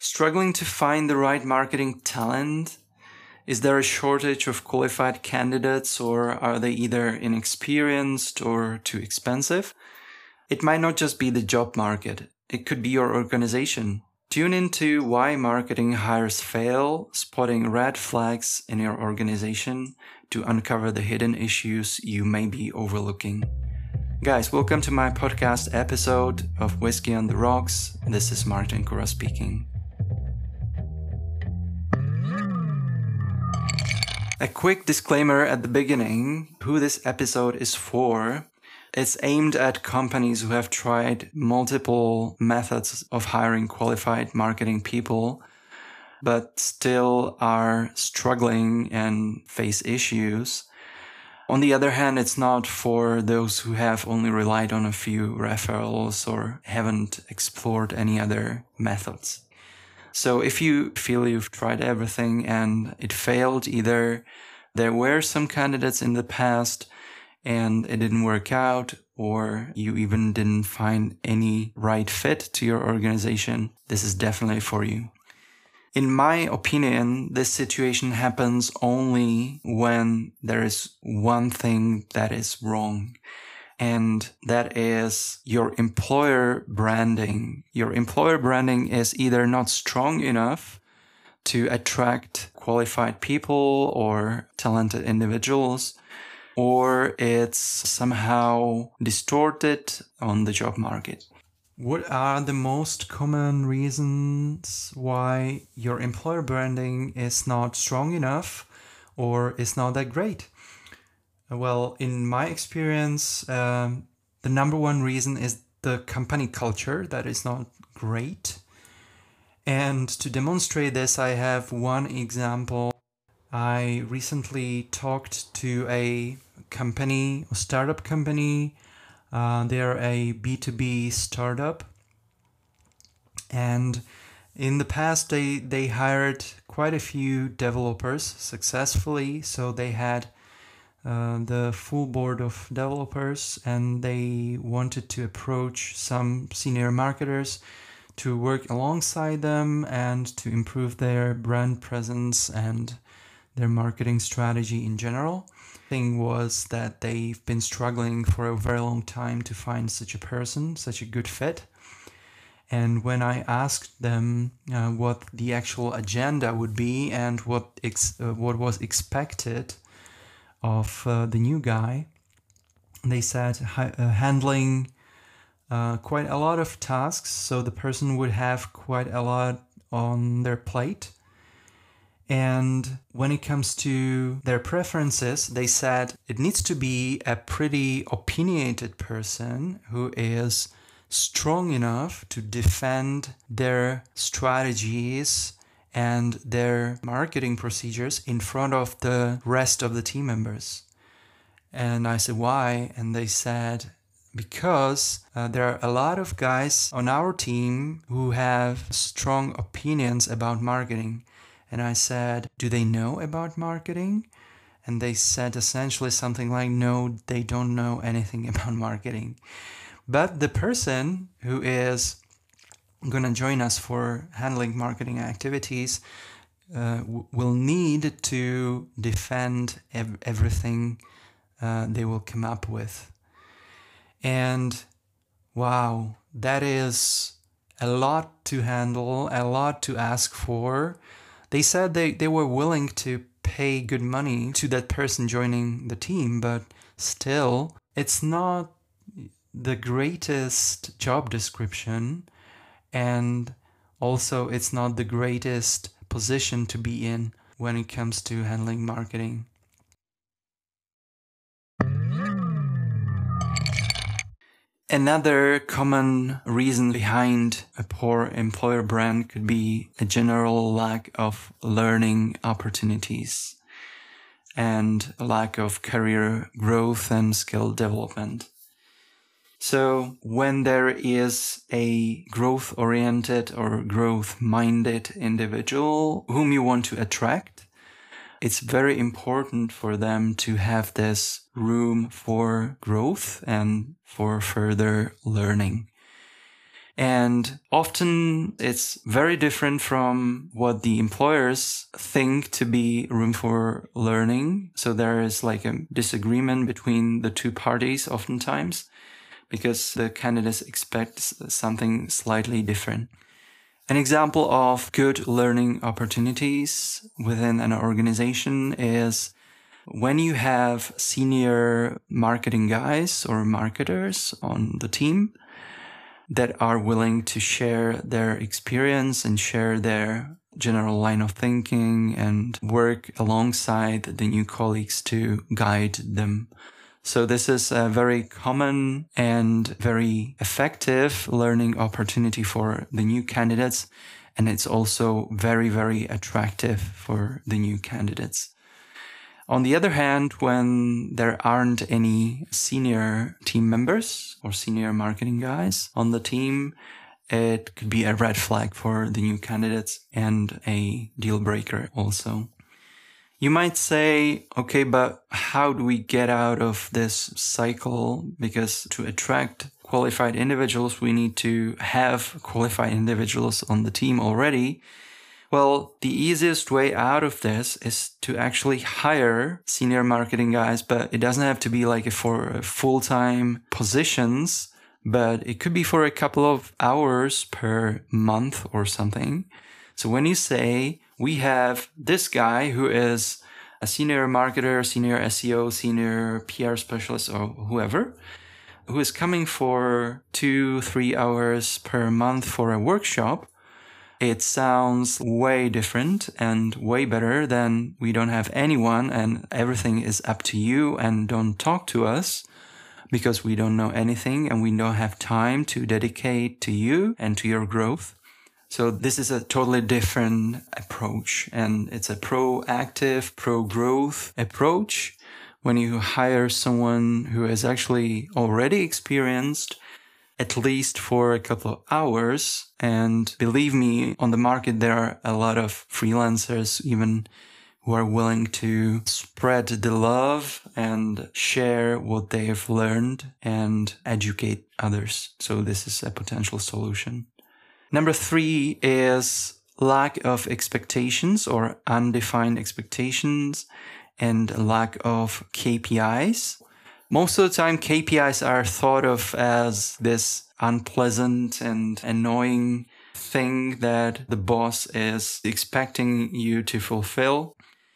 Struggling to find the right marketing talent? Is there a shortage of qualified candidates, or are they either inexperienced or too expensive? It might not just be the job market. It could be your organization. Tune into Why Marketing Hires Fail, spotting red flags in your organization to uncover the hidden issues you may be overlooking. Guys, welcome to my podcast episode of Whiskey on the Rocks. This is Martin Kura speaking. A quick disclaimer at the beginning, who this episode is for. It's aimed at companies who have tried multiple methods of hiring qualified marketing people, but still are struggling and face issues. On the other hand, it's not for those who have only relied on a few referrals or haven't explored any other methods. So if you feel you've tried everything and it failed, either there were some candidates in the past and it didn't work out, or you even didn't find any right fit to your organization, this is definitely for you. In my opinion, this situation happens only when there is one thing that is wrong. And that is your employer branding. Your employer branding is either not strong enough to attract qualified people or talented individuals, or it's somehow distorted on the job market. What are the most common reasons why your employer branding is not strong enough or is not that great? Well, in my experience, the number one reason is the company culture that is not great. And to demonstrate this, I have one example. I recently talked to a company, a startup company. They're a B2B startup. And in the past, they hired quite a few developers successfully. So they had the full board of developers, and they wanted to approach some senior marketers to work alongside them and to improve their brand presence and their marketing strategy in general. The thing was that they've been struggling for a very long time to find such a person, such a good fit. And when I asked them what the actual agenda would be and what was expected of the new guy, they said handling quite a lot of tasks, so the person would have quite a lot on their plate. And when it comes to their preferences, they said it needs to be a pretty opinionated person who is strong enough to defend their strategies and their marketing procedures in front of the rest of the team members. And I said, why? And they said, because there are a lot of guys on our team who have strong opinions about marketing. And I said, do they know about marketing? And they said essentially something like, no, they don't know anything about marketing. But the person who is going to join us for handling marketing activities will need to defend everything they will come up with. And wow, that is a lot to handle, a lot to ask for. They said they were willing to pay good money to that person joining the team, but still, it's not the greatest job description. And also, it's not the greatest position to be in when it comes to handling marketing. Another common reason behind a poor employer brand could be a general lack of learning opportunities and a lack of career growth and skill development. So when there is a growth-oriented or growth-minded individual whom you want to attract, it's very important for them to have this room for growth and for further learning. And often it's very different from what the employers think to be room for learning. So there is like a disagreement between the two parties oftentimes because the candidates expect something slightly different. An example of good learning opportunities within an organization is when you have senior marketing guys or marketers on the team that are willing to share their experience and share their general line of thinking and work alongside the new colleagues to guide them. So this is a very common and very effective learning opportunity for the new candidates. And it's also very, very attractive for the new candidates. On the other hand, when there aren't any senior team members or senior marketing guys on the team, it could be a red flag for the new candidates and a deal breaker also. You might say, okay, but how do we get out of this cycle? Because to attract qualified individuals, we need to have qualified individuals on the team already. Well, the easiest way out of this is to actually hire senior marketing guys, but it doesn't have to be like for full-time positions, but it could be for a couple of hours per month or something. So when you say we have this guy who is a senior marketer, senior SEO, senior PR specialist, or whoever, who is coming for 2-3 hours per month for a workshop, it sounds way different and way better than we don't have anyone and everything is up to you and don't talk to us because we don't know anything and we don't have time to dedicate to you and to your growth. So this is a totally different approach, and it's a proactive, pro-growth approach when you hire someone who is actually already experienced, at least for a couple of hours. And believe me, on the market, there are a lot of freelancers even who are willing to spread the love and share what they have learned and educate others. So this is a potential solution. Number 3 is lack of expectations or undefined expectations and lack of KPIs. Most of the time, KPIs are thought of as this unpleasant and annoying thing that the boss is expecting you to fulfill.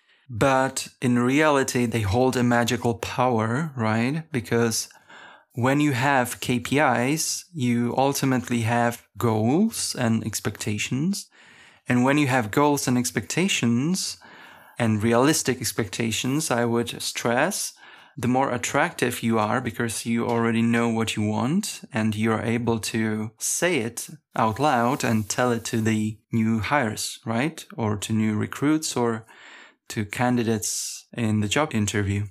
But in reality, they hold a magical power, right? Because when you have KPIs, you ultimately have goals and expectations. And when you have goals and expectations and realistic expectations, I would stress, the more attractive you are because you already know what you want and you're able to say it out loud and tell it to the new hires, right? Or to new recruits or to candidates in the job interview.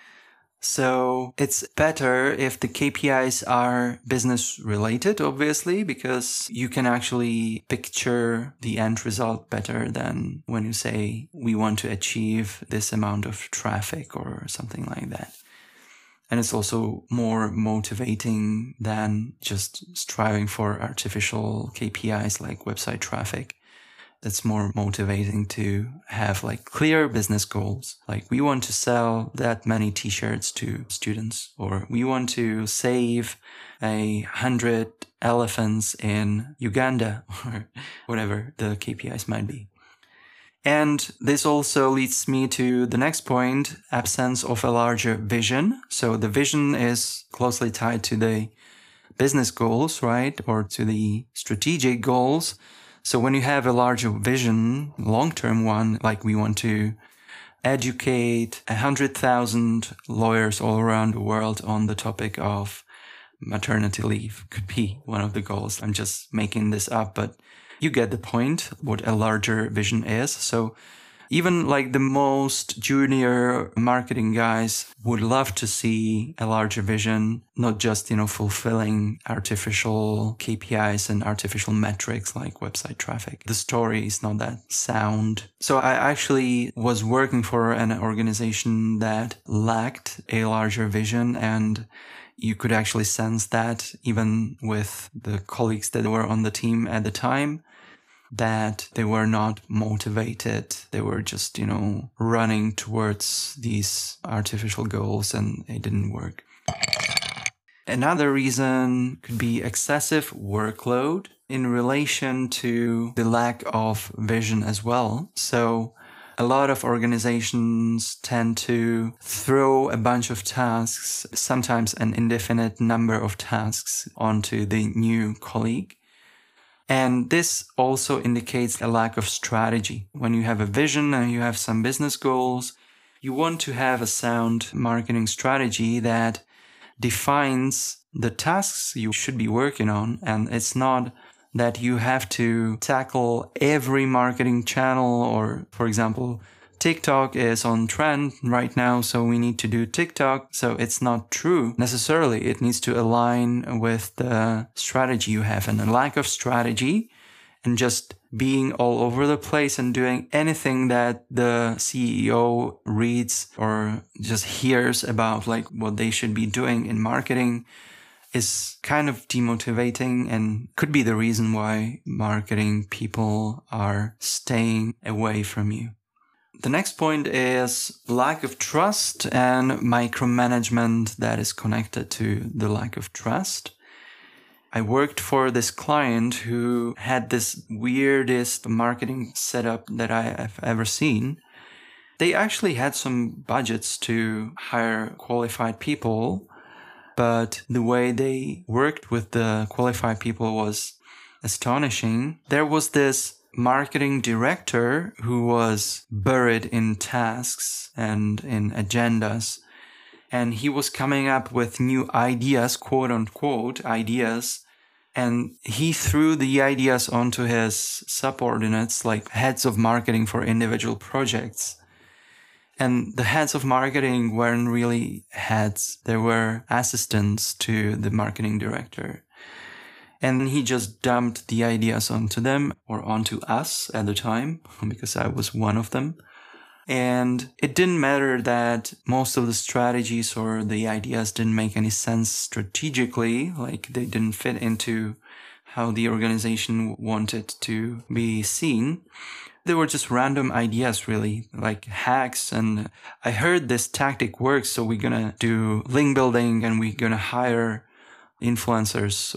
So it's better if the KPIs are business related, obviously, because you can actually picture the end result better than when you say we want to achieve this amount of traffic or something like that. And it's also more motivating than just striving for artificial KPIs like website traffic. It's more motivating to have like clear business goals. Like we want to sell that many t-shirts to students, or we want to save 100 elephants in Uganda, or whatever the KPIs might be. And this also leads me to the next point, absence of a larger vision. So the vision is closely tied to the business goals, right? Or to the strategic goals. So when you have a larger vision, long-term one, like we want to educate 100,000 lawyers all around the world on the topic of maternity leave, could be one of the goals. I'm just making this up, but you get the point, what a larger vision is. So even like the most junior marketing guys would love to see a larger vision, not just, fulfilling artificial KPIs and artificial metrics like website traffic. The story is not that sound. So I actually was working for an organization that lacked a larger vision, and You could actually sense that even with the colleagues that were on the team at the time, that they were not motivated. They were just, running towards these artificial goals, and it didn't work. Another reason could be excessive workload in relation to the lack of vision as well. So a lot of organizations tend to throw a bunch of tasks, sometimes an indefinite number of tasks, onto the new colleague. And this also indicates a lack of strategy. When you have a vision and you have some business goals, you want to have a sound marketing strategy that defines the tasks you should be working on. And it's not that you have to tackle every marketing channel, or, for example, TikTok is on trend right now, so we need to do TikTok. So it's not true necessarily. It needs to align with the strategy you have. And a lack of strategy and just being all over the place and doing anything that the CEO reads or just hears about, like what they should be doing in marketing, is kind of demotivating and could be the reason why marketing people are staying away from you. The next point is lack of trust and micromanagement that is connected to the lack of trust. I worked for this client who had this weirdest marketing setup that I have ever seen. They actually had some budgets to hire qualified people, but the way they worked with the qualified people was astonishing. There was this marketing director who was buried in tasks and in agendas, and he was coming up with new ideas, quote unquote ideas, and he threw the ideas onto his subordinates, like heads of marketing for individual projects. And the heads of marketing weren't really heads. They were assistants to the marketing director. And he just dumped the ideas onto them, or onto us at the time, because I was one of them. And it didn't matter that most of the strategies or the ideas didn't make any sense strategically, like they didn't fit into how the organization wanted to be seen. They were just random ideas, really, like hacks. And I heard this tactic works, so we're gonna do link building and we're gonna hire influencers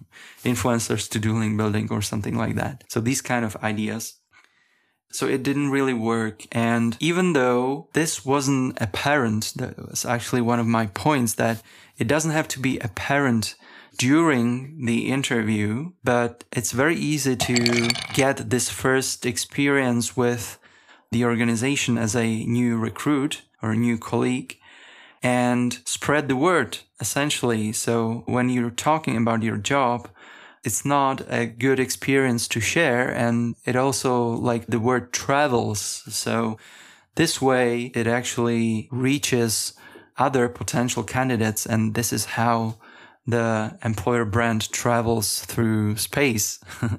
to do link building or something like that. So these kind of ideas. So it didn't really work. And even though this wasn't apparent, that was actually one of my points, that it doesn't have to be apparent during the interview, but it's very easy to get this first experience with the organization as a new recruit or a new colleague and spread the word, essentially. So when you're talking about your job, it's not a good experience to share, and it also, like, the word travels. So this way it actually reaches other potential candidates, and this is how the employer brand travels through space.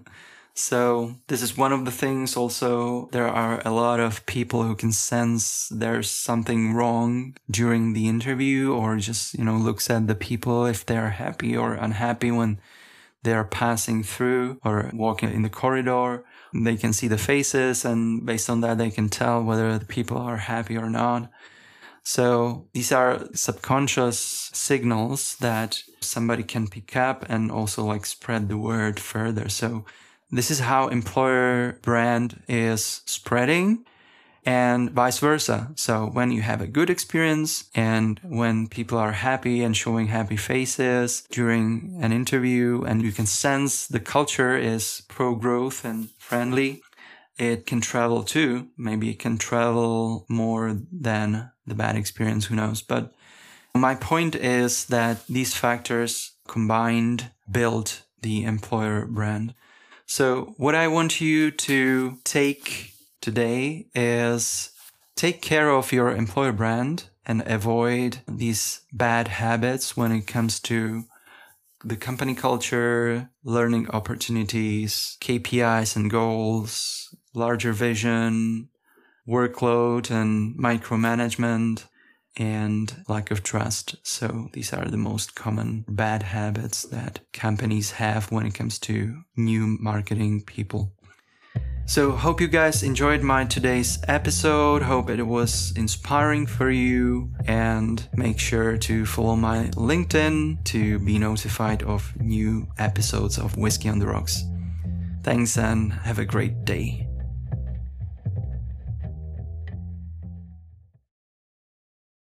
So this is one of the things. Also, there are a lot of people who can sense there's something wrong during the interview, or just, looks at the people if they're happy or unhappy when they're passing through or walking in the corridor. They can see the faces, and based on that, they can tell whether the people are happy or not. So these are subconscious signals that somebody can pick up and also, like, spread the word further. So this is how employer brand is spreading, and vice versa. So when you have a good experience and when people are happy and showing happy faces during an interview, and you can sense the culture is pro-growth and friendly, it can travel too. Maybe it can travel more than the bad experience, who knows. But my point is that these factors combined build the employer brand. So what I want you to take today is take care of your employer brand and avoid these bad habits when it comes to the company culture, learning opportunities, KPIs and goals, larger vision, workload and micromanagement. and lack of trust. So these are the most common bad habits that companies have when it comes to new marketing people. So hope you guys enjoyed my today's episode. Hope it was inspiring for you, and make sure to follow my LinkedIn to be notified of new episodes of Whiskey on the Rocks. Thanks and have a great day.